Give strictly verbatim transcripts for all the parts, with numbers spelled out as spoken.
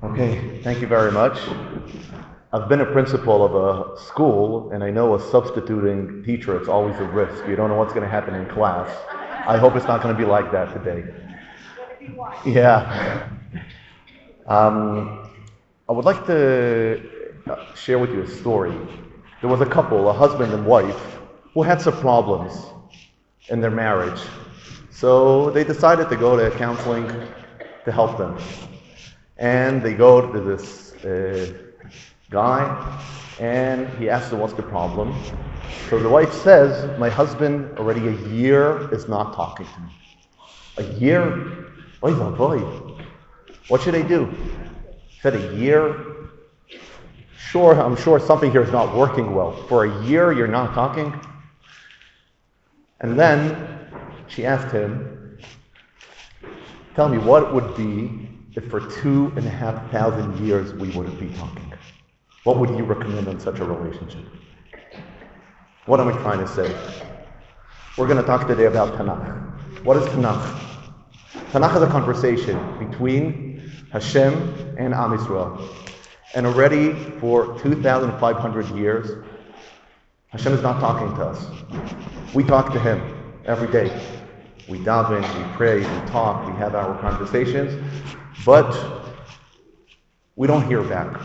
Okay, thank you very much. I've been a principal of a school, and I know a substituting teacher, it's always a risk. You don't know what's going to happen in class. I hope it's not going to be like that today. Yeah. Um, I would like to share with you a story. There was a couple, a husband and wife, who had some problems in their marriage. So they decided to go to counseling to help them. And they go to this uh, guy, and he asks them, what's the problem? So the wife says, my husband already a year is not talking to me. A year? Oy vavoy. What should I do? He said, a year? Sure, I'm sure something here is not working well. For a year, you're not talking? And then she asked him, tell me what it would be if for two and a half thousand years we wouldn't be talking. What would you recommend in such a relationship? What am I trying to say? We're going to talk today about Tanakh. What is Tanakh? Tanakh is a conversation between Hashem and Am Yisrael. And already for two thousand five hundred years, Hashem is not talking to us. We talk to Him every day. We daven, we pray, we talk, we have our conversations, but we don't hear back.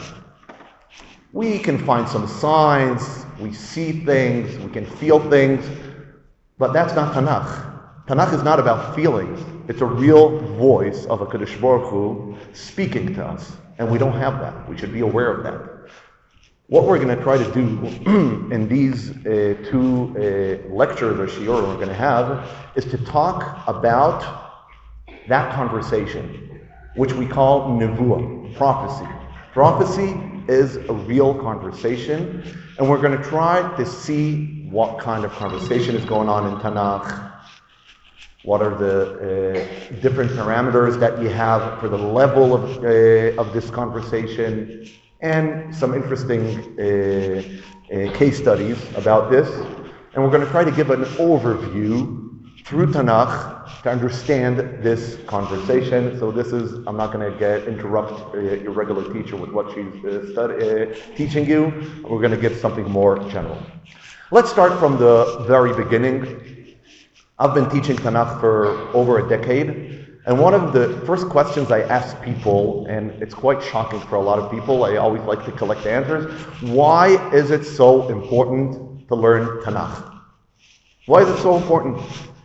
We can find some signs, we see things, we can feel things, but that's not Tanakh. Tanakh is not about feelings. It's a real voice of a Kadosh Baruch Hu speaking to us, and we don't have that. We should be aware of that. What we're going to try to do in these uh, two uh, lectures or shiur we're going to have is to talk about that conversation, which we call nevuah, prophecy. Prophecy is a real conversation, and we're going to try to see what kind of conversation is going on in Tanakh, what are the uh, different parameters that you have for the level of, uh, of this conversation, and some interesting uh, uh, case studies about this. And we're going to try to give an overview through Tanakh to understand this conversation. So this is, I'm not going to get interrupt uh, your regular teacher with what she's uh, study, uh, teaching you. We're going to give something more general. Let's start from the very beginning. I've been teaching Tanakh for over a decade. And one of the first questions I ask people, and it's quite shocking for a lot of people, I always like to collect answers, why is it so important to learn Tanakh? Why is it so important?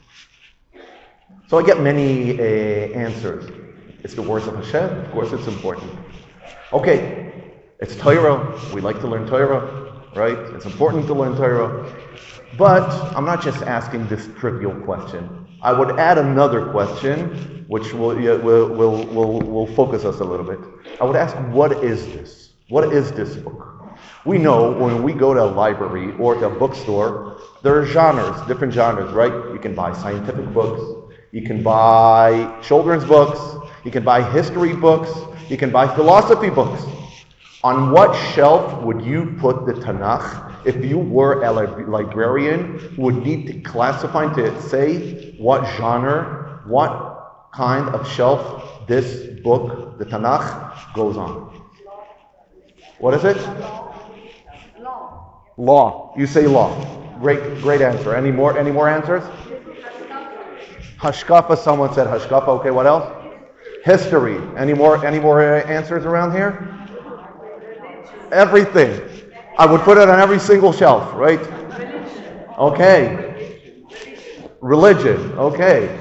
So I get many uh, answers. It's the words of Hashem, of course it's important. Okay, it's Torah, we like to learn Torah, right? It's important to learn Torah. But I'm not just asking this trivial question. I would add another question, which will, yeah, will, will, will, will focus us a little bit. I would ask, what is this? What is this book? We know when we go to a library or to a bookstore, there are genres, different genres, right? You can buy scientific books, you can buy children's books, you can buy history books, you can buy philosophy books. On what shelf would you put the Tanakh if you were a librarian who would need to classify, to say what genre, what kind of shelf this book, the Tanakh, goes on? What is it? Law. Law. You say law. Great, great answer. Any more, any more answers? Hashkafa, someone said Hashkafa. Okay, what else? History. Any more, any more uh, answers around here? Everything. I would put it on every single shelf, right? Okay. Religion. Okay.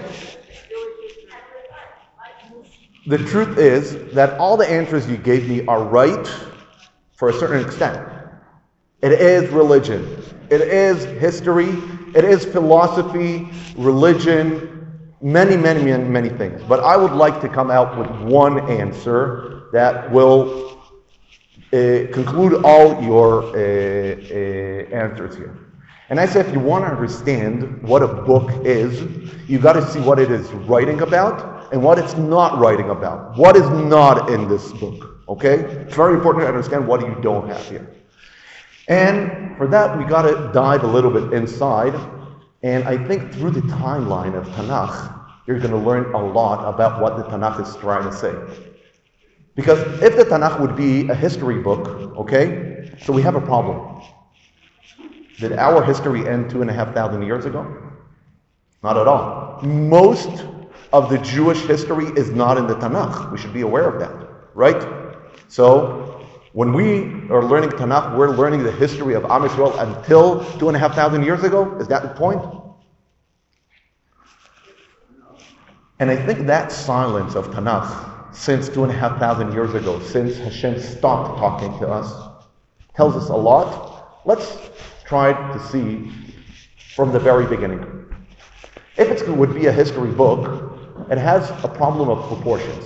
The truth is that all the answers you gave me are right for a certain extent. It is religion. It is history. It is philosophy, religion, many, many, many, many things. But I would like to come out with one answer that will Uh, conclude all your uh, uh, answers here. And I say if you want to understand what a book is, you got to see what it is writing about and what it's not writing about. What is not in this book, okay? It's very important to understand what you don't have here. And for that, we got to dive a little bit inside. And I think through the timeline of Tanakh, you're going to learn a lot about what the Tanakh is trying to say. Because if the Tanakh would be a history book, okay, so we have a problem. Did our history end two and a half thousand years ago? Not at all. Most of the Jewish history is not in the Tanakh. We should be aware of that, right? So when we are learning Tanakh, we're learning the history of Am Yisrael until two and a half thousand years ago. Is that the point? And I think that silence of Tanakh since two and a half thousand years ago, since Hashem stopped talking to us, tells us a lot. Let's try to see from the very beginning. If it would be a history book, it has a problem of proportions.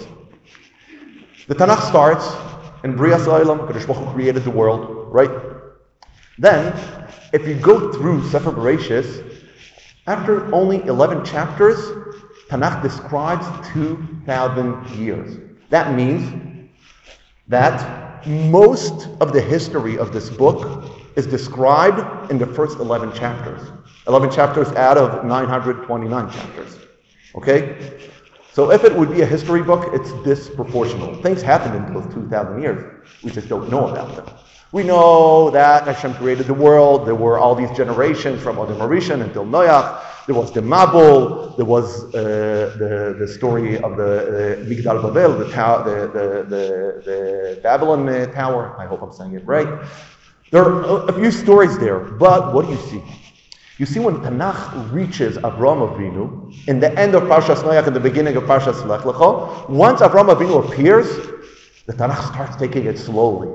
The Tanakh starts in Brias Ha'olam, Kadosh Baruch Hu created the world, right? Then, if you go through Sefer Bereshis, after only eleven chapters, Tanakh describes two thousand years. That means that most of the history of this book is described in the first eleven chapters. eleven chapters out of nine hundred twenty-nine chapters. Okay? So if it would be a history book, it's disproportional. Things happened in those two thousand years. We just don't know about them. We know that Hashem created the world. There were all these generations from Adam Arishan until Noach. There was the Mabul. There was uh, the the story of the uh, Migdal Babel, the, tower, the, the, the, the Babylon uh, tower. I hope I'm saying it right. There are a few stories there, but what do you see? You see when Tanakh reaches Avraham Avinu, in the end of Parshas Noach and the beginning of Parshas Lech Lecha, once Avraham Avinu appears, the Tanakh starts taking it slowly.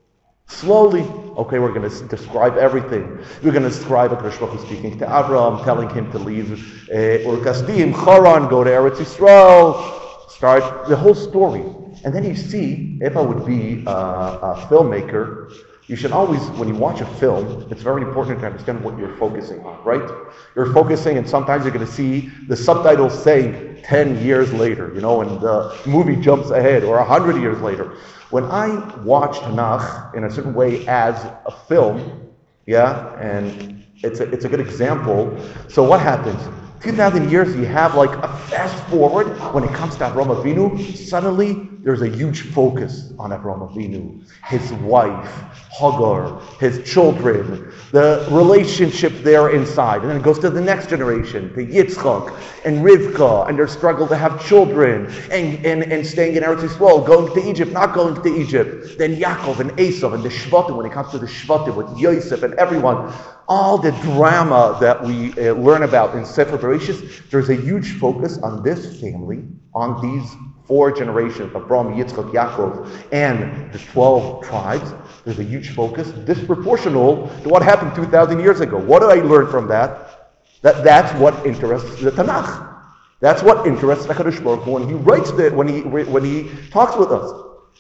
Slowly, okay, we're going to describe everything. We're going to describe Akadosh Baruch Hu speaking to Avraham, telling him to leave uh, Ur Kasdim, Haran, go to Eretz Yisrael, start the whole story. And then you see, if I would be uh, a filmmaker, you should always, when you watch a film, it's very important to understand what you're focusing on, right? You're focusing, and sometimes you're going to see the subtitles saying ten years later, you know, and the movie jumps ahead, or one hundred years later. When I watch Tanakh in a certain way as a film, yeah, and it's a, it's a good example. So what happens? two thousand years, you have like a fast forward. When it comes to Avraham Avinu, suddenly there's a huge focus on Avraham Avinu, his wife, Hagar, his children, the relationship there inside. And then it goes to the next generation, to Yitzchak and Rivka, and their struggle to have children, and, and, and staying in Eretz Yisrael, going to Egypt, not going to Egypt. Then Yaakov and Esav and the Shvatim, when it comes to the Shvatim with Yosef and everyone. All the drama that we uh, learn about in Sefer Bereshis, there's a huge focus on this family, on these four generations of Abraham, Yitzchak, Yaakov, and the twelve tribes. There's a huge focus, disproportional to what happened two thousand years ago. What did I learn from that? That that's what interests the Tanakh. That's what interests HaKadosh Baruch Hu when he writes the, when he when he talks with us.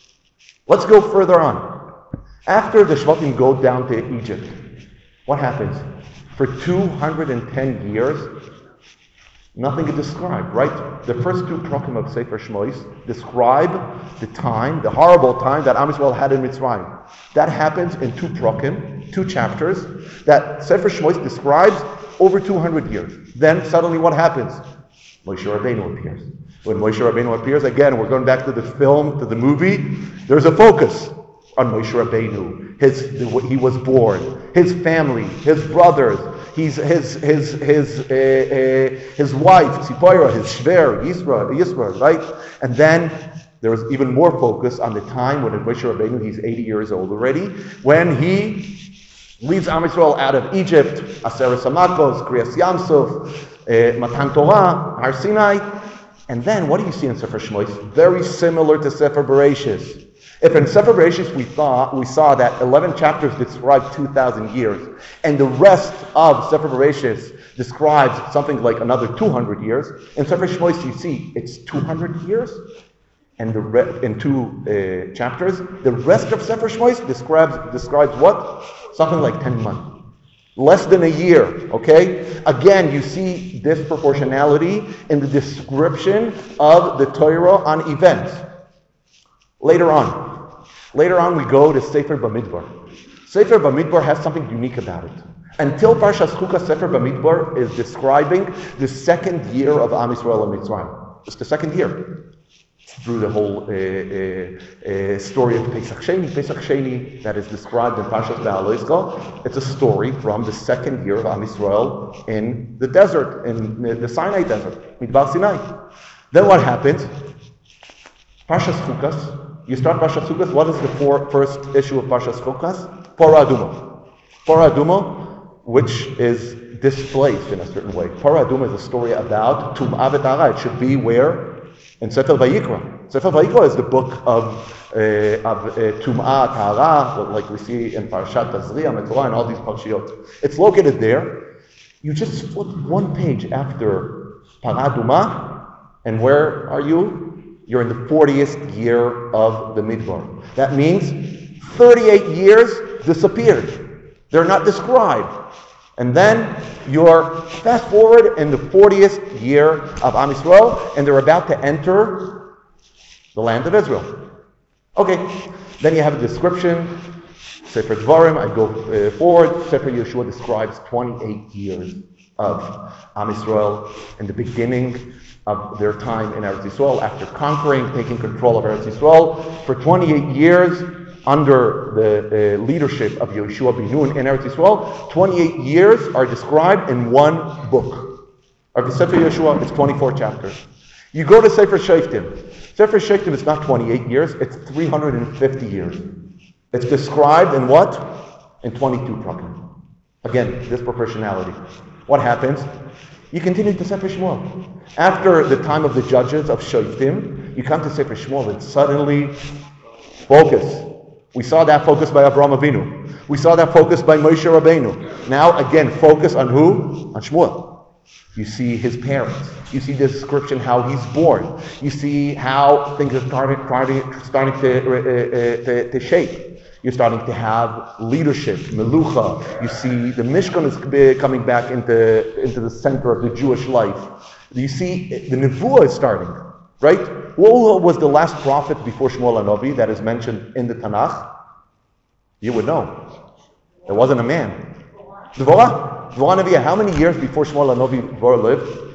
Let's go further on. After the Shvatim go down to Egypt, what happens? For two hundred ten years, nothing is described, right? The first two prakim of Sefer Shmois describe the time, the horrible time that Am Yisrael had in Mitzrayim. That happens in two prakim, two chapters, that Sefer Shmois describes over two hundred years. Then suddenly what happens? Moshe Rabbeinu appears. When Moshe Rabbeinu appears, again, we're going back to the film, to the movie, there's a focus on Moshe Rabbeinu. His, he was born, his family, his brothers, he's, his his his uh, uh, his wife, Tzipora, his shver, Yisrael, Yisrael, right? And then there was even more focus on the time when Moshe Rabbeinu, he's eighty years old already, when he leads Am Yisrael out of Egypt, Aseret Samakos, Kriyas Yamsuf, uh, Matan Torah, Har Sinai. And then what do you see in Sefer Shmois? Very similar to Sefer Bereshis. If in Sefer Bereshis we thought we saw that eleven chapters describe two thousand years, and the rest of Sefer Bereshis describes something like another two hundred years, in Sefer Shmois you see it's two hundred years, and the re- in two uh, chapters, the rest of Sefer Shmois describes describes what? Something like ten months, less than a year. Okay. Again, you see disproportionality in the description of the Torah on events. Later on. Later on, we go to Sefer Bamidbar. Sefer Bamidbar has something unique about it. Until Parshas Chukas, Sefer Bamidbar is describing the second year of Am Yisrael and Mitzrayim. It's the second year. through the whole uh, uh, uh, story of Pesach Sheni. Pesach Sheni, that is described in Parshas Be'aloizcha, it's a story from the second year of Am Yisrael in the desert, in the Sinai desert, Midbar Sinai. Then what happens? Parshas Chukas. You start Parshas Chukas. What is the four, first issue of Parshas Chukas? Parah Aduma. Parah Aduma, which is displaced in a certain way. Parah Aduma is a story about Tum'ah v'Tahara. It should be where? In Sefer Vayikra. Sefer Vayikra is the book of, uh, of uh, Tum'ah, Tahara, like we see in Parashat Tazria, Metzorah, and all these parashiyot. It's located there. You just flip one page after Parah Aduma, and where are you? You're in the fortieth year of the Midbar. That means thirty-eight years disappeared. They're not described. And then you're fast forward in the fortieth year of Am Yisrael, and they're about to enter the land of Israel. Okay, then you have a description. Sefer Dvarim, I go uh, forward. Sefer Yeshua describes twenty-eight years of Am Yisrael in the beginning of their time in Eretz Yisrael, after conquering, taking control of Eretz Yisrael. For twenty-eight years, under the uh, leadership of Yeshua ben Nun in Eretz Yisrael, twenty-eight years are described in one book. Of the Sefer Yeshua, it's twenty-four chapters. You go to Sefer Shoftim. Sefer Shoftim is not twenty-eight years, it's three hundred fifty years. It's described in what? In twenty-two prakim. Again, disproportionality. What happens? You continue to Sefer Shmuel. After the time of the judges of Shoftim, you come to Sefer Shmuel and suddenly focus. We saw that focus by Avraham Avinu. We saw that focus by Moshe Rabbeinu. Now again, focus on who? On Shmuel. You see his parents. You see the description how he's born. You see how things are starting, starting, starting to, uh, to, to shape. You're starting to have leadership, melucha. You see the Mishkan is coming back into, into the center of the Jewish life. You see the Nevuah is starting, right? Who was the last prophet before Shmuel HaNavi that is mentioned in the Tanakh? You would know. It wasn't a man. Dvorah. Dvorah Neviah. How many years before Shmuel HaNavi Dvorah lived?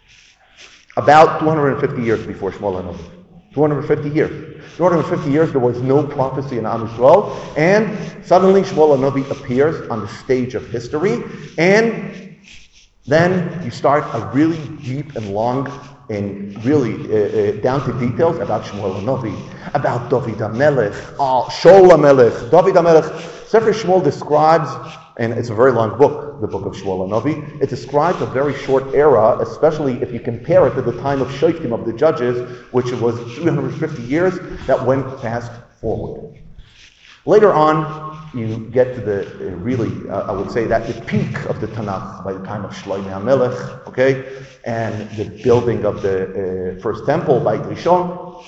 About two hundred fifty years before Shmuel HaNavi. two hundred fifty years. two hundred fifty years there was no prophecy in Am Yisrael, and suddenly Shmuel HaNavi appears on the stage of history, and then you start a really deep and long and really uh, uh, down to details about Shmuel HaNavi, about David HaMelech, oh, Shaul HaMelech, David HaMelech. Sefer Shmuel describes, and it's a very long book, the book of Shmuel HaNavi, it describes a very short era, especially if you compare it to the time of Shoftim, of the judges, which was three hundred fifty years, that went fast forward. Later on, you get to the, uh, really, uh, I would say that the peak of the Tanakh by the time of Shlomo HaMelech, okay, and the building of the uh, first temple by Rishon.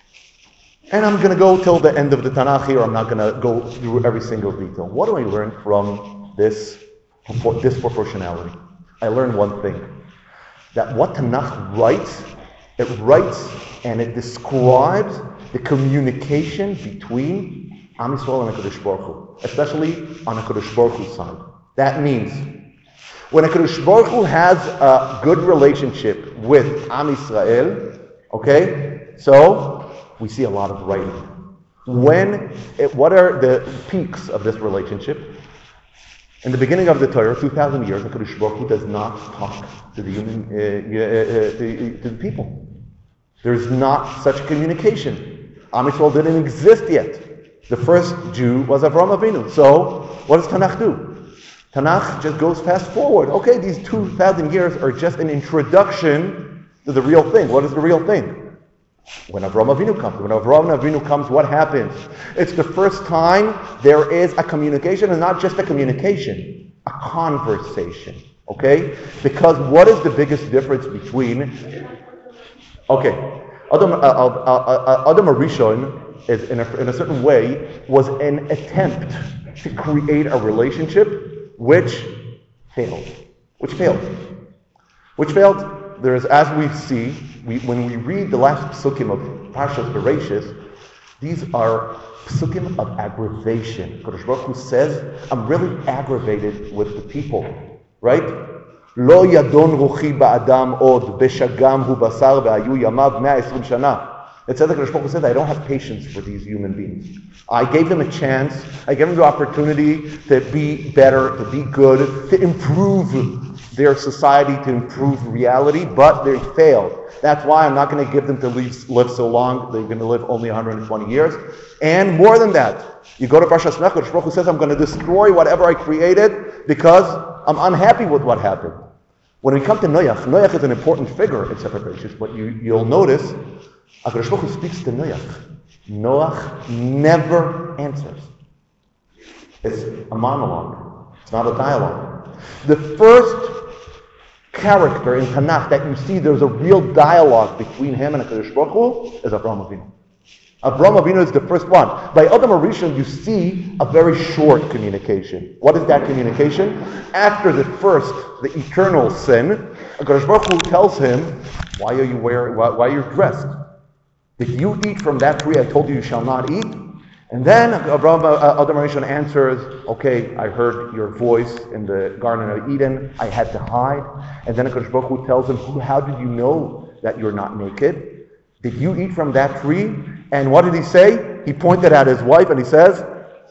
And I'm going to go till the end of the Tanakh here. I'm not going to go through every single detail. What do I learn from this disproportionality? I learned one thing, that what Tanakh writes, it writes and it describes the communication between Am Yisrael and HaKadosh Baruch Hu, especially on HaKadosh Baruch Hu's side. That means, when HaKadosh Baruch Hu has a good relationship with Am Yisrael, okay, so we see a lot of writing. When, it, what are the peaks of this relationship? In the beginning of the Torah, two thousand years, HaKadosh Baruch Hu does not talk to the human, uh, uh, uh, to, to the people. There's not such communication. Am Yisrael didn't exist yet. The first Jew was Avraham Avinu. So, what does Tanakh do? Tanakh just goes fast forward. Okay, these two thousand years are just an introduction to the real thing. What is the real thing? When Avraham Avinu comes. When Avraham Avinu comes, what happens? It's the first time there is a communication, and not just a communication, a conversation. Okay? Because what is the biggest difference between... Okay, Adam, uh, uh, uh, uh, Adam Arishon is in a, in a certain way was an attempt to create a relationship which failed. Which failed. Which failed. There is, as we see, we, when we read the last psukim of Parshas Bereshis, these are psukim of aggravation. Kadosh Baruch Hu says, I'm really aggravated with the people. Right? Lo yadon ruchi ba'adam od, beshagam hu basar ve'ayu yamav one hundred twenty shana. It says that HaKadosh Baruch Hu said, I don't have patience for these human beings. I gave them a chance, I gave them the opportunity to be better, to be good, to improve their society, to improve reality, but they failed. That's why I'm not going to give them to live, live so long. They're going to live only one hundred twenty years. And more than that, you go to Parshas Shemot, HaKadosh Baruch Hu says, I'm going to destroy whatever I created because I'm unhappy with what happened. When we come to Noach, Noach is an important figure in Sefer Bereshit, but you, you'll notice HaKadosh Baruch Hu speaks to Noach. Noach never answers. It's a monologue. It's not a dialogue. The first character in Tanakh that you see there's a real dialogue between him and HaKadosh Baruch Hu is Avraham Avinu. Avraham Avinu is the first one. By Adam HaRishon, you see a very short communication. What is that communication? After the first, the eternal sin, HaKadosh Baruch Hu tells him, why are you wearing, why, why are you dressed? Did you eat from that tree I told you you shall not eat? And then Abraham, uh, Adam HaRishon answers, okay, I heard your voice in the Garden of Eden. I had to hide. And then HaKadosh Baruch Hu tells him, how did you know that you're not naked? Did you eat from that tree? And what did he say? He pointed at his wife and he says,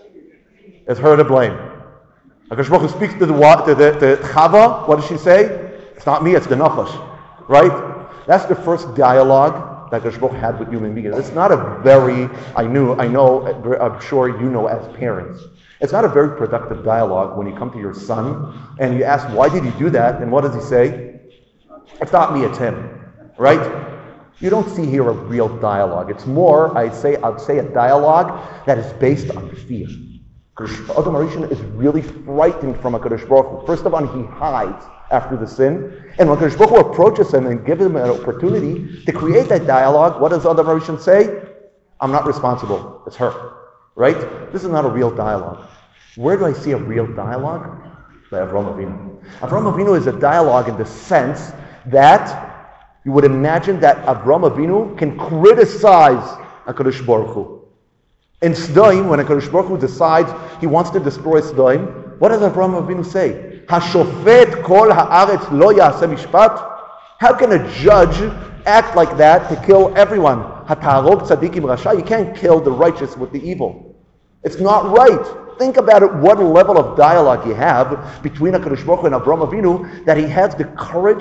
it's her to blame. HaKadosh Baruch Hu speaks to the, to the to Chava. What does she say? It's not me, it's the Nachash. Right? That's the first dialogue that HaKadosh Baruch Hu had with human beings. It's not a very, I knew, I know, I'm sure you know as parents, it's not a very productive dialogue when you come to your son and you ask, why did he do that? And what does he say? It's not me, it's him. Right? You don't see here a real dialogue. It's more, I'd say, I'd say a dialogue that is based on fear. Adam HaRishon is really frightened from HaKadosh Baruch Hu. First of all, he hides after the sin. And when HaKadosh Baruch Hu approaches him and gives him an opportunity to create that dialogue, what does Adam HaRishon say? I'm not responsible. It's her. Right? This is not a real dialogue. Where do I see a real dialogue? By Avraham Avinu. Avraham Avinu is a dialogue in the sense that you would imagine that Avraham Avinu can criticize HaKadosh Baruch Hu. In Sdoim, when HaKadosh Baruch Hu decides he wants to destroy Sdoim, what does Avraham Avinu say? Hashofet kol haaretz lo ya'aseh mishpat? How can a judge act like that to kill everyone? Hatarog tzadikim rasha? You can't kill the righteous with the evil. It's not right. Think about it, what level of dialogue you have between HaKadosh Baruch Hu and Avraham Avinu that he has the courage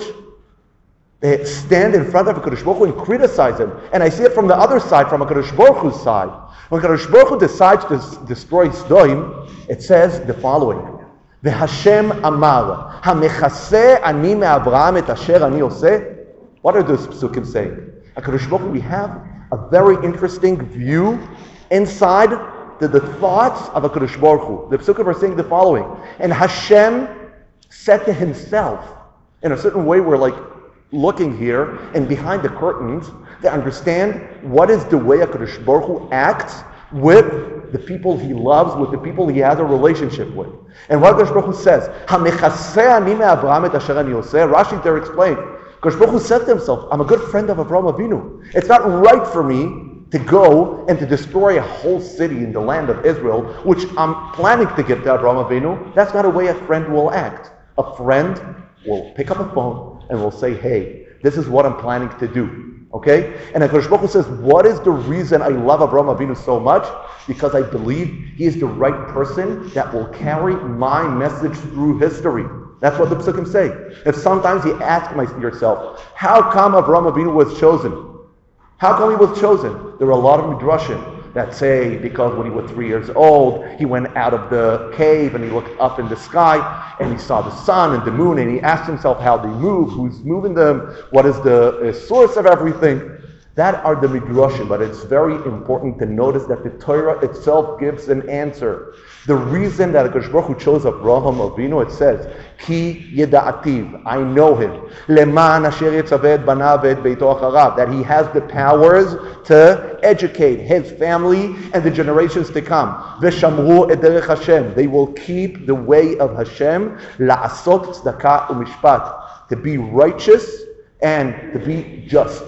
to stand in front of HaKadosh Baruch Hu and criticize him. And I see it from the other side, from HaKadosh Baruch Hu's side. When HaKadosh Baruch Hu decides to destroy Sdoim, it says the following. V'Hashem amar, ha'mechaseh ani me'Avraham et asher ani oseh. What are those psukim saying? HaKadosh Baruch Hu, we have a very interesting view inside the, the thoughts of HaKadosh Baruch Hu. The psukim are saying the following. And Hashem said to himself, in a certain way we're like looking here and behind the curtains to understand what is the way HaKadosh Baruch Hu acts with the people he loves, with the people he has a relationship with. And what HaKadosh Baruch Hu says, Ha'mechaseh ani me'Avraham et asher ani oseh. Rashi there explained, HaKadosh Baruch Hu said to himself, I'm a good friend of Avraham Avinu. It's not right for me to go and to destroy a whole city in the land of Israel, which I'm planning to give to Avraham Avinu. That's not a way a friend will act. A friend will pick up a phone and will say, hey, this is what I'm planning to do. Okay? And HaKadosh Baruch Hu says, what is the reason I love Avraham Avinu so much? Because I believe he is the right person that will carry my message through history. That's what the psukim say. If sometimes you ask yourself, how come Avraham Avinu was chosen? How come he was chosen? There are a lot of midrashim that say because when he was three years old, he went out of the cave and he looked up in the sky and he saw the sun and the moon and he asked himself how they move, who's moving them, what is the uh, source of everything. That are the midrashim, but it's very important to notice that the Torah itself gives an answer. The reason that HaKadosh Baruch Hu chose Avraham Avinu, it says, Ki yeda'ativ, I know him, leman asher yitzaveh et banav et beito acharav, that he has the powers to educate his family and the generations to come. V'shamru et derech Hashem, they will keep the way of Hashem, la'asot tzedakah u'mishpat, to be righteous and to be just.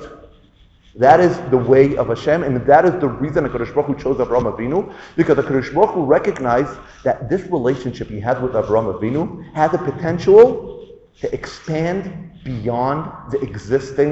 That is the way of Hashem, and that is the reason HaKadosh Baruch Hu chose Avraham Avinu, because HaKadosh Baruch Hu recognized that this relationship he had with Avraham Avinu had the potential to expand beyond the existing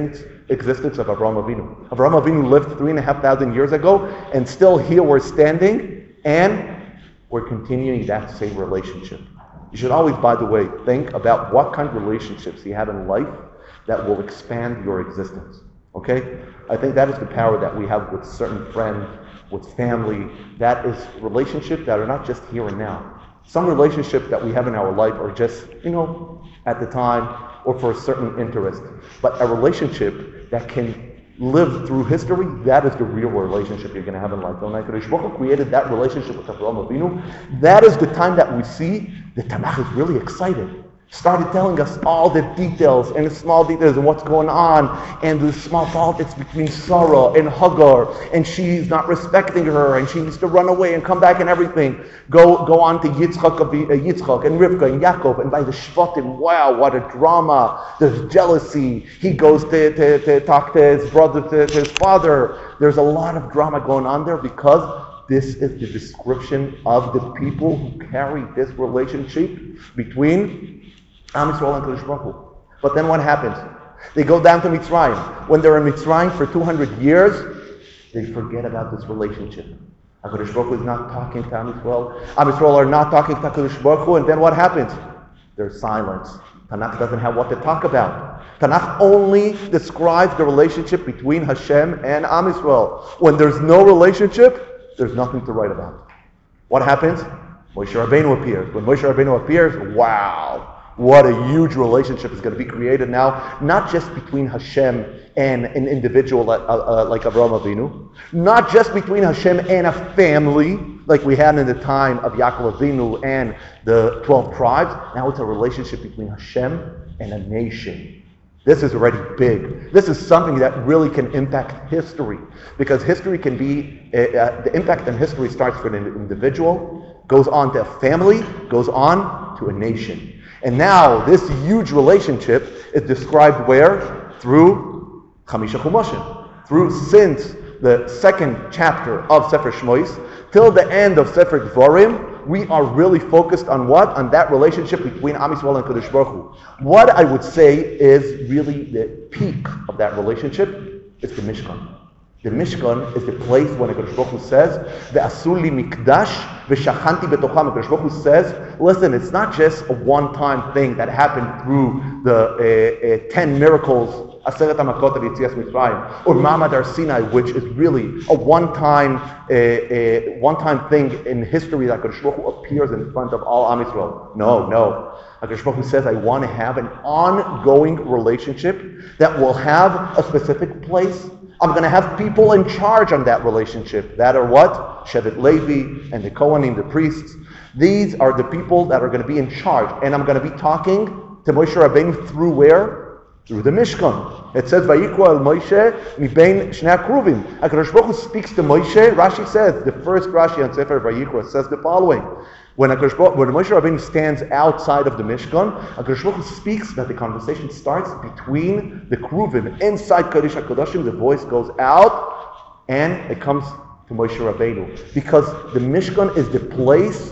existence of Avraham Avinu. Avraham Avinu lived three and a half thousand years ago, and still here we're standing, and we're continuing that same relationship. You should always, by the way, think about what kind of relationships you have in life that will expand your existence. Okay? I think that is the power that we have with certain friends, with family. That is relationships that are not just here and now. Some relationships that we have in our life are just, you know, at the time or for a certain interest. But a relationship that can live through history, that is the real relationship you're going to have in life. When HaKadosh Baruch Hu created that relationship with Avraham Avinu, that is the time that we see the Tanakh is really excited. Started telling us all the details and the small details and what's going on and the small politics between Sarah and Hagar, and she's not respecting her and she needs to run away and come back and everything. Go go on to Yitzchak, uh, Yitzchak and Rivka and Yaakov, and by the Shvatim, wow, what a drama. There's jealousy. He goes to, to, to talk to his brother, to, to his father. There's a lot of drama going on there because this is the description of the people who carry this relationship between Am Yisrael and Kadosh Baruch Hu. But then what happens? They go down to Mitzrayim. When they're in Mitzrayim for two hundred years, they forget about this relationship. HaKadosh Baruch Hu is not talking to Am Yisrael. Am Yisrael are not talking to HaKadosh Baruch Hu, and then what happens? There's silence. Tanakh doesn't have what to talk about. Tanakh only describes the relationship between Hashem and Am Yisrael. When there's no relationship, there's nothing to write about. What happens? Moshe Rabbeinu appears. When Moshe Rabbeinu appears, wow! What a huge relationship is going to be created now, not just between Hashem and an individual uh, uh, like Avraham Avinu, not just between Hashem and a family like we had in the time of Yaakov Avinu and the twelve tribes. Now it's a relationship between Hashem and a nation. This is already big. This is something that really can impact history, because history can be, uh, uh, the impact in history starts with an individual, goes on to a family, goes on to a nation. And now this huge relationship is described where? Through Chamisha Chumashim. Through, since the second chapter of Sefer Shmois till the end of Sefer Dvarim, we are really focused on what? On that relationship between Am Yisrael and Kadosh Baruch Hu. What I would say is really the peak of that relationship is the Mishkan. The Mishkan is the place when HaKadosh Baruch Hu says, "Ve'asu li mikdash ve'shachanti betocham." HaKadosh Baruch Hu says, listen, it's not just a one-time thing that happened through the uh, uh, ten miracles, Aseret HaMakot of Yetzias Mitzrayim, or Ma'amad Har Sinai, which is really a one-time uh, uh, one-time thing in history that HaKadosh Baruch Hu appears in front of all Am Yisrael. No, no. HaKadosh Baruch Hu says, I want to have an ongoing relationship that will have a specific place. I'm going to have people in charge on that relationship. That are what? Shevet Levi and the Kohanim, the priests. These are the people that are going to be in charge. And I'm going to be talking to Moshe Rabbeinu through where? Through the Mishkan. It says, Vayikra el Moshe mibein shnei hakruvim. HaKadosh Baruch Hu speaks to Moshe. Rashi says, the first Rashi on Sefer Vayikra says the following. When, HaKadosh Baruch, when Moshe Rabbeinu stands outside of the Mishkan, HaKadosh Baruch Hu speaks that the conversation starts between the Kruvim. Inside Kodesh HaKodashim, the voice goes out and it comes to Moshe Rabbeinu. Because the Mishkan is the place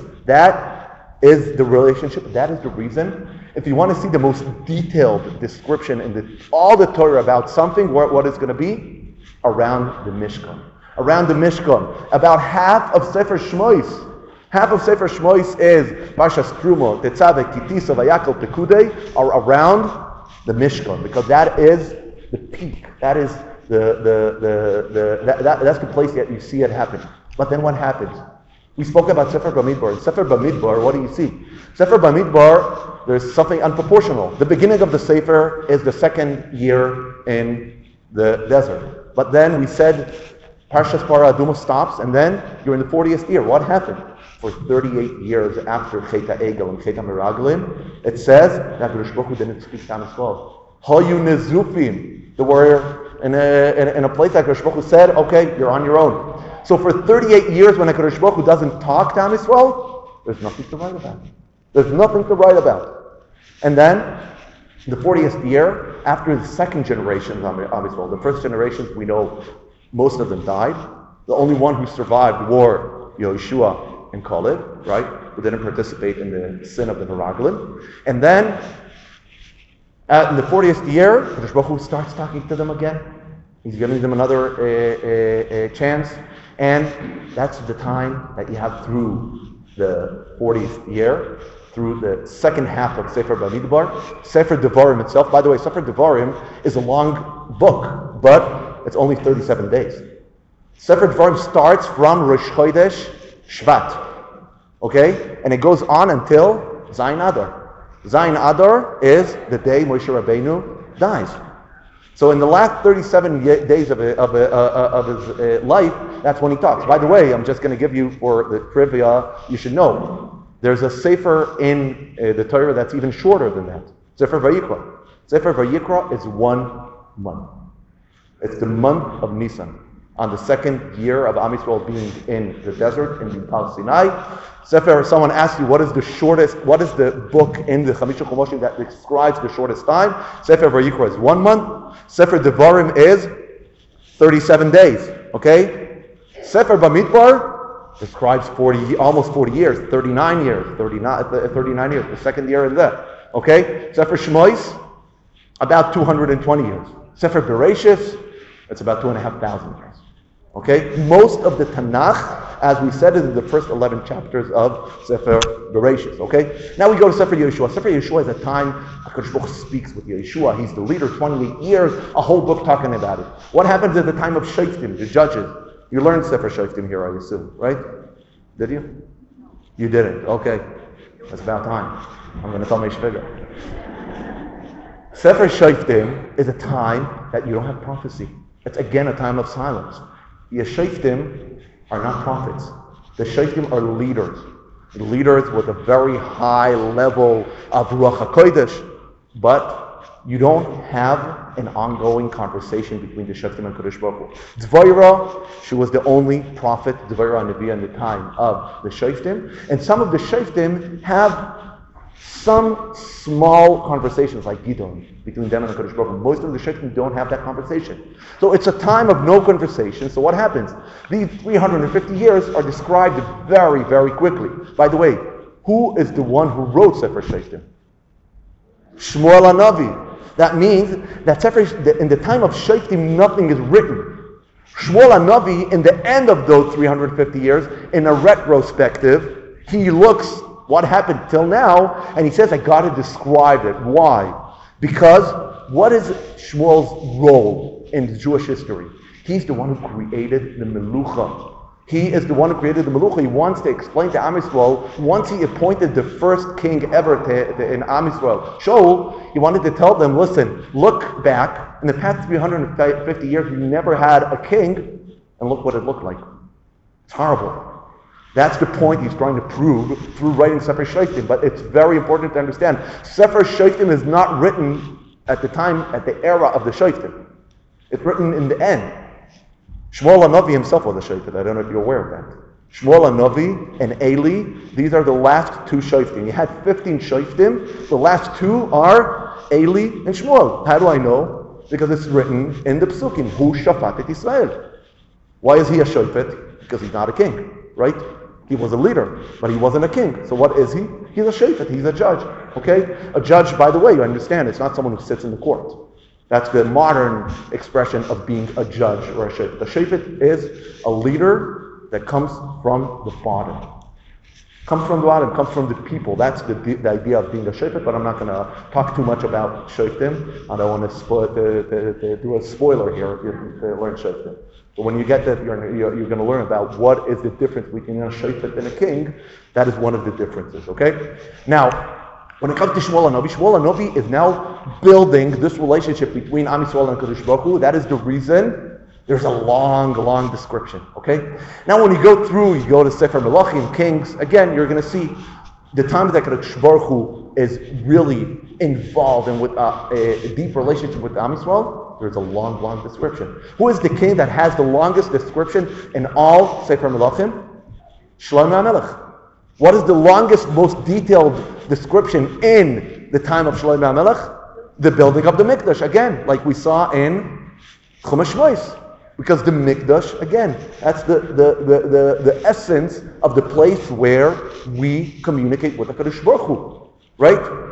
that is the relationship. That is the reason. If you want to see the most detailed description in the, all the Torah about something, what, what it's going to be? Around the Mishkan. Around the Mishkan. About half of Sefer Shmois. Half of Sefer Shmois is Parshas Truma, Tetzaveh, Kitisa, Vayakal, Pekudei, are around the Mishkan, because that is the peak. That is the the the, the that, that, that's the place that you see it happen. But then what happens? We spoke about Sefer Bamidbar. In Sefer Bamidbar, what do you see? Sefer Bamidbar, there's something unproportional. The beginning of the Sefer is the second year in the desert. But then we said Parshas Parah Adumah stops, and then you're in the fortieth year. What happened? For thirty-eight years after Chet HaEgel and Chet HaMeraglim, it says that HaKadosh Baruch Hu didn't speak to Am Yisrael. Hayu nezufim. They were in a, in a, in a place that HaKadosh Baruch Hu said, okay, you're on your own. So for thirty-eight years when HaKadosh Baruch Hu doesn't talk to Am Yisrael, there's nothing to write about. There's nothing to write about. And then, the fortieth year, after the second generation of Am Yisrael, the first generations we know, most of them died. The only one who survived were Yehoshua and Caleb, right, who didn't participate in the sin of the Meraglim. And then Uh, in the fortieth year, Kadosh Baruch Hu starts talking to them again. He's giving them another uh, uh, uh, chance. And that's the time that you have through the fortieth year, through the second half of Sefer Bamidbar. Sefer Devarim itself, by the way, Sefer Devarim is a long book, but it's only thirty-seven days. Sefer Devarim starts from Rosh Chodesh Shvat, okay? And it goes on until Zayin Adar. Zayin Adar is the day Moshe Rabbeinu dies. So in the last thirty-seven days of, a, of, a, uh, of his uh, life, that's when he talks. By the way, I'm just going to give you, for the trivia, you should know, there's a Sefer in uh, the Torah that's even shorter than that. Sefer Vayikra. Sefer Vayikra is one month. It's the month of Nisan. On the second year of Am Yisrael being in the desert, in the Tal Sinai. Sefer, someone asks you, what is the shortest, what is the book in the Chamisha Chumoshim that describes the shortest time? Sefer Vayikra is one month. Sefer Devarim is thirty-seven days. Okay? Sefer Bamidbar describes forty, almost forty years, thirty-nine years, thirty-nine, thirty-nine years, the second year in there. Okay? Sefer Shmois, about two hundred twenty years. Sefer Bereshis, it's about two and a half thousand years. Okay? Most of the Tanakh, as we said, is in the first eleven chapters of Sefer Bereshis. Okay? Now we go to Sefer Yeshua. Sefer Yeshua is a time HaKadosh Baruch Hu speaks with Yeshua. He's the leader, twenty-eight years, a whole book talking about it. What happens at the time of Shoftim, the judges? You learned Sefer Shoftim here, I assume, right? Did you? You didn't. Okay. It's about time. I'm going to tell Meish Figure. Sefer Shoftim is a time that you don't have prophecy. It's again a time of silence. The Shoftim are not prophets. The Shoftim are leaders. Leaders with a very high level of Ruach HaKodesh. But you don't have an ongoing conversation between the Shoftim and Kadosh Baruch Hu. Dvorah, she was the only prophet, Dvorah Neviah, in the time of the Shoftim. And some of the Shoftim have some small conversations like Gidon between them and the Kadosh Baruch Hu. Most of the Shoftim don't have that conversation. So it's a time of no conversation. So what happens? These three hundred fifty years are described very, very quickly. By the way, who is the one who wrote Sefer Shoftim? Shmuel HaNavi. That means that Sefer, in the time of Shoftim, nothing is written. Shmuel HaNavi, in the end of those three hundred fifty years, in a retrospective, he looks what happened till now, and he says, I got to describe it. Why? Because what is Shmuel's role in Jewish history? He's the one who created the Melucha. He is the one who created the Melucha. He wants to explain to Am Yisrael, once he appointed the first king ever to, to, in Am Yisrael, Shaul, he wanted to tell them, listen, look back, in the past three hundred fifty years, we never had a king, and look what it looked like. It's horrible. That's the point he's trying to prove through writing Sefer Shoftim. But it's very important to understand, Sefer Shoftim is not written at the time, at the era of the Shoftim. It's written in the end. Shmuel HaNavi himself was a Shoftim. I don't know if you're aware of that. Shmuel HaNavi and Eli, these are the last two Shoftim. You had fifteen Shoftim. The last two are Eli and Shmuel. How do I know? Because it's written in the Psukim. Hu Shafat et Israel. Why is he a Shofet? Because he's not a king, right? He was a leader, but he wasn't a king. So what is he? He's a shofet. He's a judge. Okay? A judge, by the way, you understand, it's not someone who sits in the court. That's the modern expression of being a judge or a shofet. A shofet is a leader that comes from the bottom. Comes from the bottom, comes from the people. That's the, the idea of being a shofet, but I'm not going to talk too much about shoftim. I don't want to, spo- to, to, to do a spoiler here if you to learn shoftim. But when you get that, you're, you're, you're going to learn about what is the difference between a shofet and a king. That is one of the differences, okay? Now, when it comes to Shmuel HaNavi, Shmuel HaNavi is now building this relationship between Am Yisrael and Kadosh Baruch Hu. That is the reason there's a long, long description, okay? Now, when you go through, you go to Sefer Melachim, Kings, again, you're going to see the time that Kadosh Baruch Hu is really involved in with uh, a, a deep relationship with Am Yisrael. There's a long, long description. Who is the king that has the longest description in all Sefer Melachim? Shlomo HaMelech. What is the longest, most detailed description in the time of Shlomo HaMelech? The building of the Mikdash, again, like we saw in Chumash Shmois. Because the Mikdash, again, that's the, the, the, the, the essence of the place where we communicate with the Kadosh Baruch Hu. Right?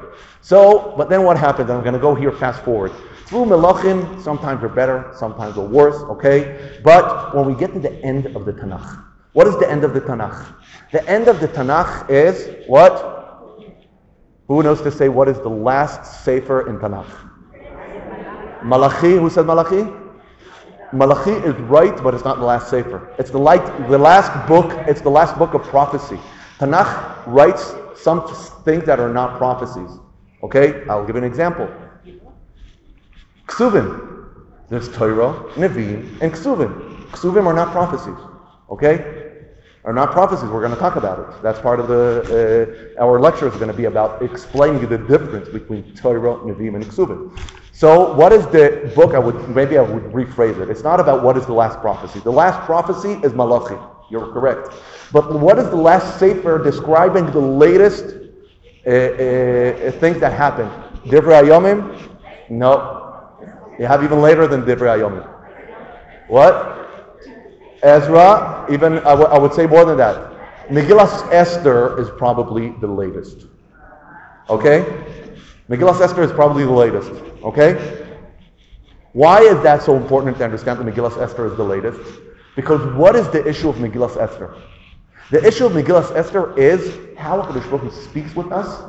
So, but then what happens? I'm going to go here fast forward. Through Melachim, sometimes they're better, sometimes they're worse, okay? But when we get to the end of the Tanakh, what is the end of the Tanakh? The end of the Tanakh is what? Who knows to say what is the last sefer in Tanakh? Malachi. Who said Malachi? Malachi is right, but it's not the last sefer. It's the, light, the last book. It's the last book of prophecy. Tanakh writes some things that are not prophecies. Okay, I'll give you an example. Ksuvim. There's Torah, Nevi'im, and Ksuvim. Ksuvim are not prophecies. Okay, are not prophecies. We're going to talk about it. That's part of the uh, our lecture is going to be about explaining the difference between Torah, Nevi'im, and Ksuvim. So, what is the book? I would maybe I would rephrase it. It's not about what is the last prophecy. The last prophecy is Malachi. You're correct. But what is the last sefer describing the latest uh, uh, things that happened? Divrei Hayomim? No. You have even later than Divrei Hayomim. What? Ezra? Even I, w- I would say more than that. Megillas Esther is probably the latest. Okay? Megillas Esther is probably the latest. Okay? Why is that so important to understand that Megillas Esther is the latest? Because what is the issue of Megillas Esther? The issue of Megillas Esther is how HaKadosh Baruch Hu speaks with us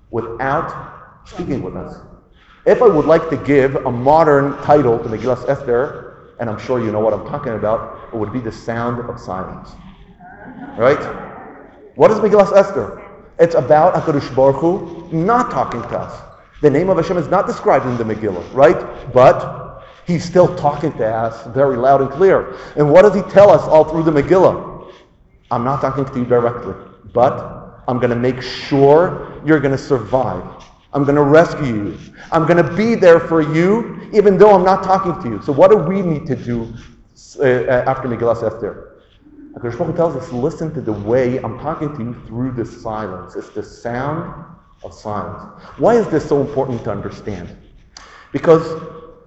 without speaking with us. If I would like to give a modern title to Megillas Esther, and I'm sure you know what I'm talking about, it would be the sound of silence. Right? What is Megillas Esther? It's about HaKadosh Baruch Hu not talking to us. The name of Hashem is not described in the Megillah, right? But He's still talking to us very loud and clear. And what does He tell us all through the Megillah? I'm not talking to you directly, but I'm going to make sure you're going to survive. I'm going to rescue you. I'm going to be there for you, even though I'm not talking to you. So what do we need to do uh, after Megillas Esther? HaKadosh Baruch Hu tells us, listen to the way I'm talking to you through the silence. It's the sound of silence. Why is this so important to understand? Because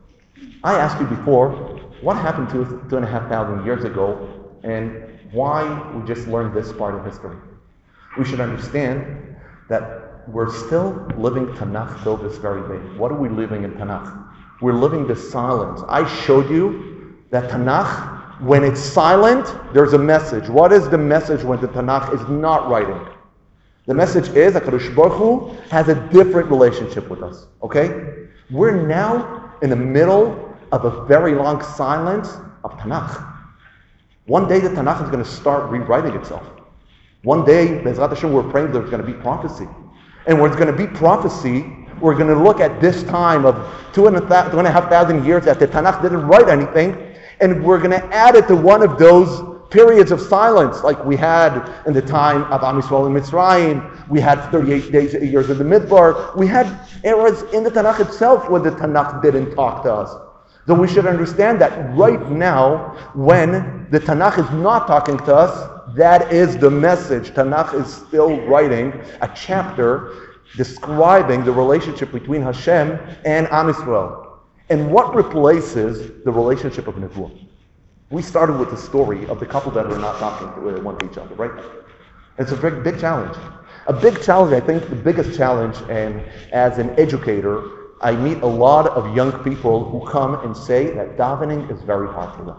I asked you before, what happened to us two and a half thousand years ago, and why we just learned this part of history? We should understand that we're still living Tanakh till this very day. What are we living in Tanakh? We're living the silence. I showed you that Tanakh, when it's silent, there's a message. What is the message when the Tanakh is not writing? The message is that HaKadosh Baruch Hu has a different relationship with us. Okay? We're now in the middle of a very long silence of Tanakh. One day the Tanakh is going to start rewriting itself. One day, Bezrat Hashem, we're praying there's going to be prophecy. And when it's going to be prophecy, we're going to look at this time of two and a, th- two and a half thousand years that the Tanakh didn't write anything, and we're going to add it to one of those periods of silence, like we had in the time of Am Yisrael in Mitzrayim. We had thirty-eight days, years in the Midbar. We had eras in the Tanakh itself where the Tanakh didn't talk to us. So we should understand that right now, when the Tanakh is not talking to us, that is the message. Tanakh is still writing a chapter describing the relationship between Hashem and Am Yisrael. And what replaces the relationship of Nevuah? We started with the story of the couple that are not talking to one to each other, right? It's a big, big challenge. A big challenge, I think the biggest challenge, and as an educator, I meet a lot of young people who come and say that davening is very hard for them.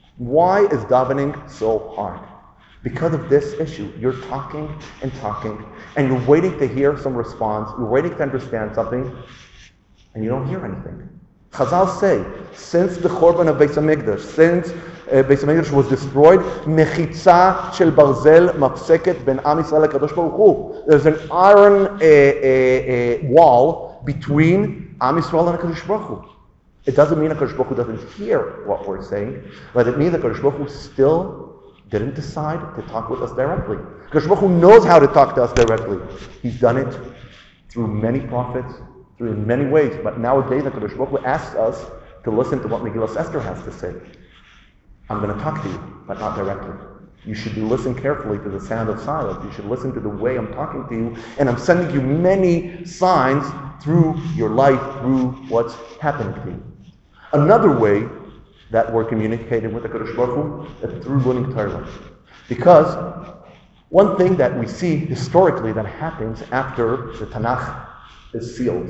Why is davening so hard? Because of this issue. You're talking and talking, and you're waiting to hear some response, you're waiting to understand something, and you don't hear anything. Chazal say, since the Chorban of Beis HaMikdash, since uh, Beis HaMikdash was destroyed, mechitza shel barzel mafseket ben Am Yisrael HaKadosh Baruch Hu. There's an iron uh, uh, uh, wall between Am Yisrael and HaKadosh Baruch Hu. It doesn't mean HaKadosh Baruch Hu doesn't hear what we're saying, but it means that HaKadosh Baruch Hu still didn't decide to talk with us directly. HaKadosh Baruch Hu knows how to talk to us directly. He's done it through many prophets, through in many ways, but nowadays HaKadosh Baruch Hu asks us to listen to what Megillas Esther has to say. I'm going to talk to you, but not directly. You should listen carefully to the sound of silence. You should listen to the way I'm talking to you, and I'm sending you many signs through your life, through what's happening to you. Another way that we're communicating with the HaKadosh Baruch Hu is through learning Torah. Because one thing that we see historically that happens after the Tanakh is sealed.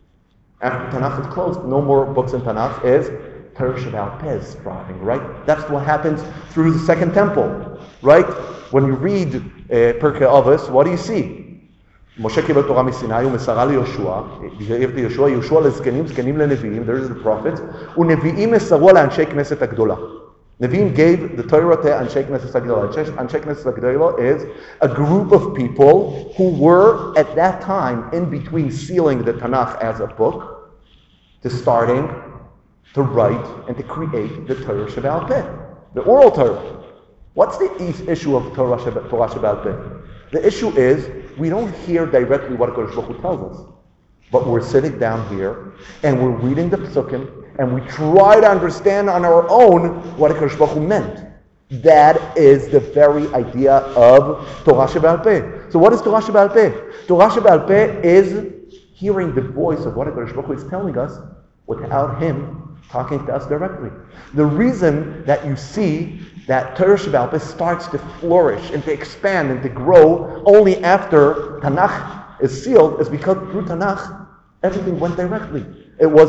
After Tanakh is closed, no more books in Tanakh, is Torah Sheba'al Peh is thriving, right? That's what happens through the Second Temple, right? When you read uh, Pirkei Avos, what do you see? Moshe קיבל תורה מסיני ומסרה ליהושע, העביר ליהושע, יהושע לזקנים, זקנים לנביאים, there's the prophets, ונביאים מסרו לאנשי כנסת הגדולה. Nevi'im gave the Torah to Anshe Knesset HaGedolah. Anshe Knesset HaGedolah is a group of people who were, at that time, in between sealing the Tanakh as a book, to starting to write and to create the Torah Sheba'al Peh, the oral Torah. What's the issue of Torah Sheba'al Peh? The issue is, we don't hear directly what HaKadosh Baruch Hu tells us. But we're sitting down here, and we're reading the Psukim, and we try to understand on our own what HaKadosh Baruch Hu meant. That is the very idea of Torah Sheba'al Peh. So what is Torah Sheba'al Peh? Torah Sheba'al Peh is hearing the voice of what HaKadosh Baruch Hu is telling us without Him talking to us directly. The reason that you see that Torah Sheba'al Peh starts to flourish and to expand and to grow only after Tanakh is sealed is because through Tanakh, everything went directly. It was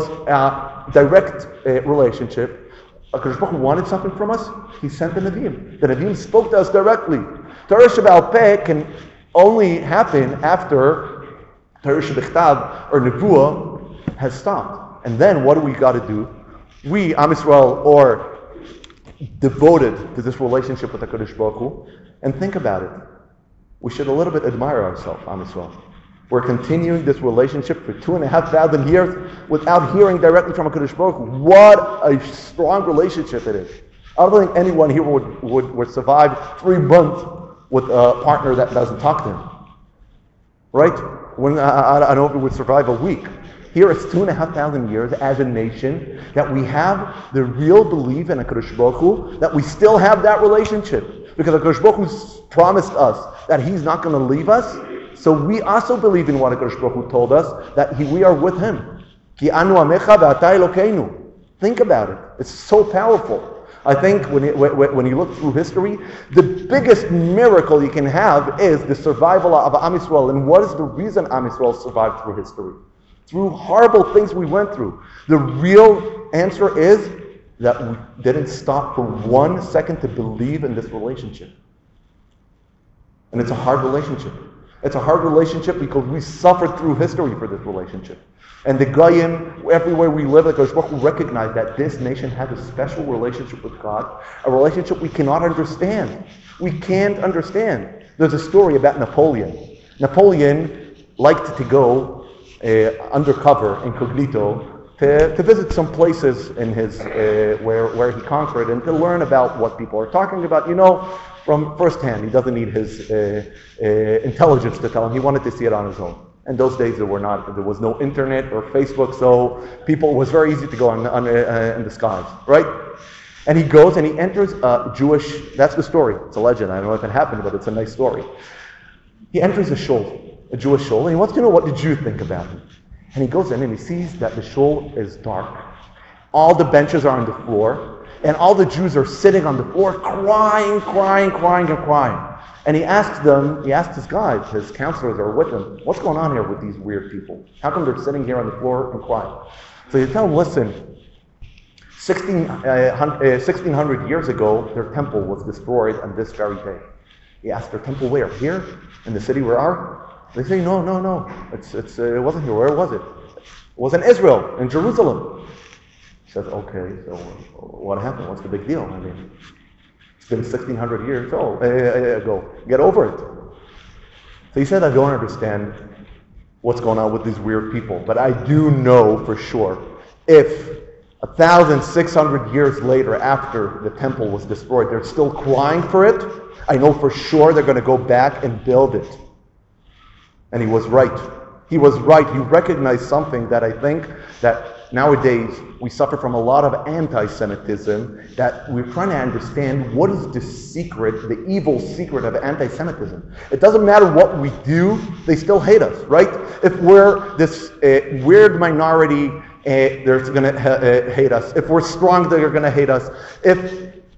a direct uh, relationship. HaKadosh Baruch Hu wanted something from us, He sent the Nevi'im. The Nevi'im spoke to us directly. Torah Sheba'al Peh can only happen after Torah Shebichtav or Nevuah has stopped. And then what do we got to do? We, Am Yisrael, are devoted to this relationship with HaKadosh Baruch Hu. And think about it. We should a little bit admire ourselves, Am Yisrael. We're continuing this relationship for two and a half thousand years without hearing directly from HaKadosh Baruch Hu. What a strong relationship it is. I don't think anyone here would, would, would survive three months with a partner that doesn't talk to him. Right? When, I, I don't know if it would survive a week. Here it's two and a half thousand years as a nation that we have the real belief in HaKadosh Baruch Hu, that we still have that relationship. Because HaKadosh Baruch Hu promised us that He's not going to leave us. So we also believe in what HaKadosh Baruch Hu told us, that he, we are with Him. Ki anu amecha ve'ata Elokeinu. Think about it. It's so powerful. I think when, it, when you look through history, the biggest miracle you can have is the survival of Am Yisrael. And what is the reason Am Yisrael survived through history? Through horrible things we went through. The real answer is that we didn't stop for one second to believe in this relationship. And it's a hard relationship. It's a hard relationship because we suffered through history for this relationship. And the Goyim, everywhere we live, like Baruch Hu recognize that this nation has a special relationship with God, a relationship we cannot understand. We can't understand. There's a story about Napoleon. Napoleon liked to go uh, undercover, incognito, to, to visit some places in his uh, where, where he conquered and to learn about what people are talking about. You know, from firsthand. He doesn't need his uh, uh, intelligence to tell him. He wanted to see it on his own. And those days there were not, there was no internet or Facebook, so people, it was very easy to go on, on uh, in the skies, right? And he goes and he enters a Jewish, that's the story. It's a legend. I don't know if it happened, but it's a nice story. He enters a shul, a Jewish shul, and he wants to know what the Jews think about him. And he goes in and he sees that the shul is dark. All the benches are on the floor. And all the Jews are sitting on the floor crying, crying, crying, and crying. And he asks them, he asks his guys, his counselors are with him, what's going on here with these weird people? How come they're sitting here on the floor and crying? So you tell them, listen, sixteen hundred years ago, their temple was destroyed on this very day. He asked, their temple where? Here? In the city where are? They say, no, no, no. It's, it's, uh, it wasn't here. Where was it? It was in Israel, in Jerusalem. He says, okay, so what happened? What's the big deal? I mean, it's been sixteen hundred years old, uh, ago. Get over it. So he said, I don't understand what's going on with these weird people, but I do know for sure, if a thousand six hundred years later, after the temple was destroyed, they're still crying for it, I know for sure they're going to go back and build it. And he was right. He was right. He recognized something that I think that nowadays we suffer from a lot of anti-Semitism, that we're trying to understand what is the secret, the evil secret of anti-Semitism. It doesn't matter what we do, they still hate us, right? If we're this uh, weird minority, uh, they're going to ha- uh, hate us. If we're strong, they're going to hate us. If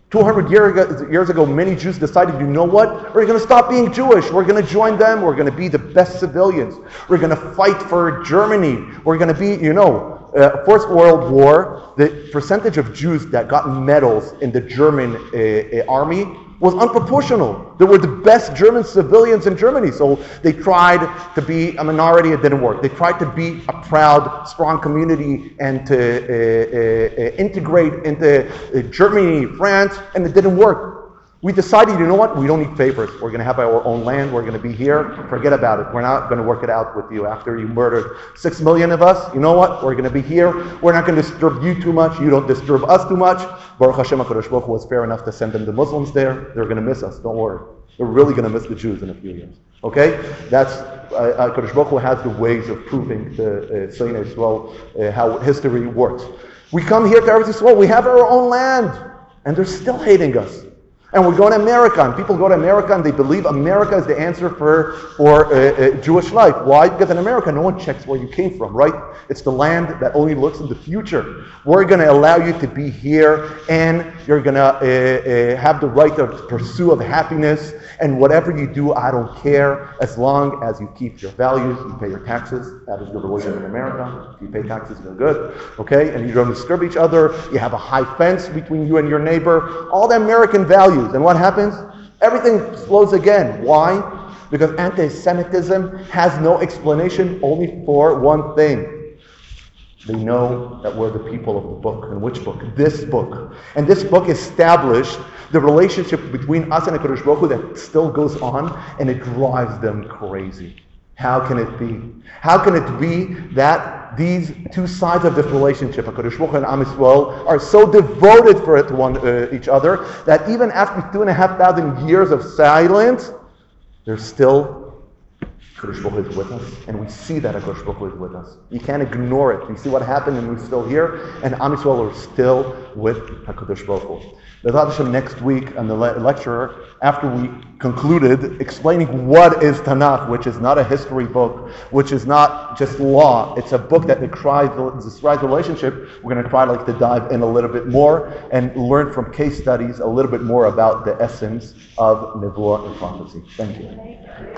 two hundred year ago, years ago, many Jews decided, you know what? We're going to stop being Jewish. We're going to join them. We're going to be the best civilians. We're going to fight for Germany. We're going to be, you know, uh, First World War, the percentage of Jews that got medals in the German uh, uh, army was unproportional. They were the best German civilians in Germany. So they tried to be a minority. It didn't work. They tried to be a proud, strong community and to uh, uh, uh, integrate into uh, Germany, France, and it didn't work. We decided, you know what? We don't need favors. We're going to have our own land. We're going to be here. Forget about it. We're not going to work it out with you after you murdered six million of us. You know what? We're going to be here. We're not going to disturb you too much. You don't disturb us too much. Baruch Hashem, HaKadosh Baruch Hu was fair enough to send them the Muslims there. They're going to miss us. Don't worry. They're really going to miss the Jews in a few years. Okay? That's, uh, HaKadosh Baruch Hu has the ways of proving to Seinei Yisrael uh, how history works. We come here to Eretz Yisrael. We have our own land. And they're still hating us. And we're going to America, and people go to America and they believe America is the answer for, for uh, uh, Jewish life. Why? Because in America, no one checks where you came from, right? It's the land that only looks in the future. We're going to allow you to be here, and you're going to uh, uh, have the right to pursue of happiness, and whatever you do, I don't care, as long as you keep your values, you pay your taxes. That is your religion in America. If you pay taxes, you're good, okay? And you don't disturb each other. You have a high fence between you and your neighbor. All the American values. And what happens? Everything slows again. Why? Because anti-Semitism has no explanation, only for one thing. They know that we're the people of the book. And which book? This book. And this book established the relationship between us and HaKadosh Baruch Hu that still goes on, and it drives them crazy. How can it be? How can it be that these two sides of this relationship, HaKadosh Baruch Hu and Am Yisrael, are so devoted for it to one uh, each other that even after two and a half thousand years of silence, there's still HaKadosh Baruch Hu is with us, and we see that HaKadosh Baruch Hu is with us. You can't ignore it. You see what happened, and we're still here, and Am Yisrael are still with HaKadosh Baruch Hu. B'ezrat Hashem, next week on the le- lecture, after we concluded explaining what is Tanakh, which is not a history book, which is not just law, it's a book that describes the relationship, we're going to try like to dive in a little bit more and learn from case studies a little bit more about the essence of Nevuah and prophecy. Thank you.